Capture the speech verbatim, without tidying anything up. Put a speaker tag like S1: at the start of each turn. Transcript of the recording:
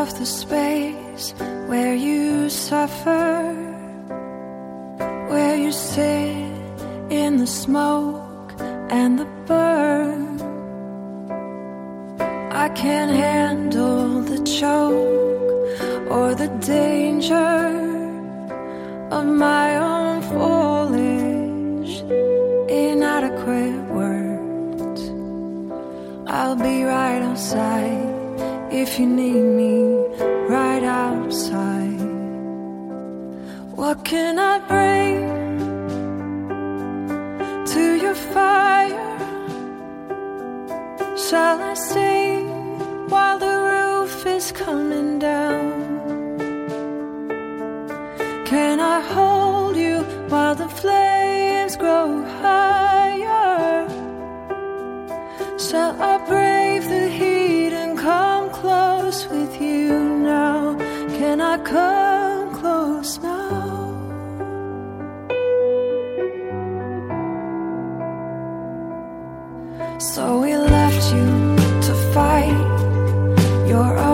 S1: of the space where you suffer, where you sit in the smoke and the burn. I can't handle the choke or the danger of my own foolish, inadequate words. I'll be right outside if you need me, right outside. What can I bring to your fire? Shall I sing while the roof is coming down? Can I hold you while the flames grow higher? Shall I brave the heat and come close with you now? Can I come close now? So we left you to fight your